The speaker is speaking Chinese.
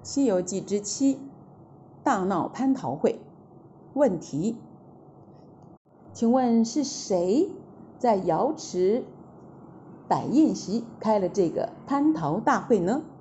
西遊記之7大鬧蟠桃會。問題：請問是誰在瑤池擺宴席開了這個蟠桃大會呢？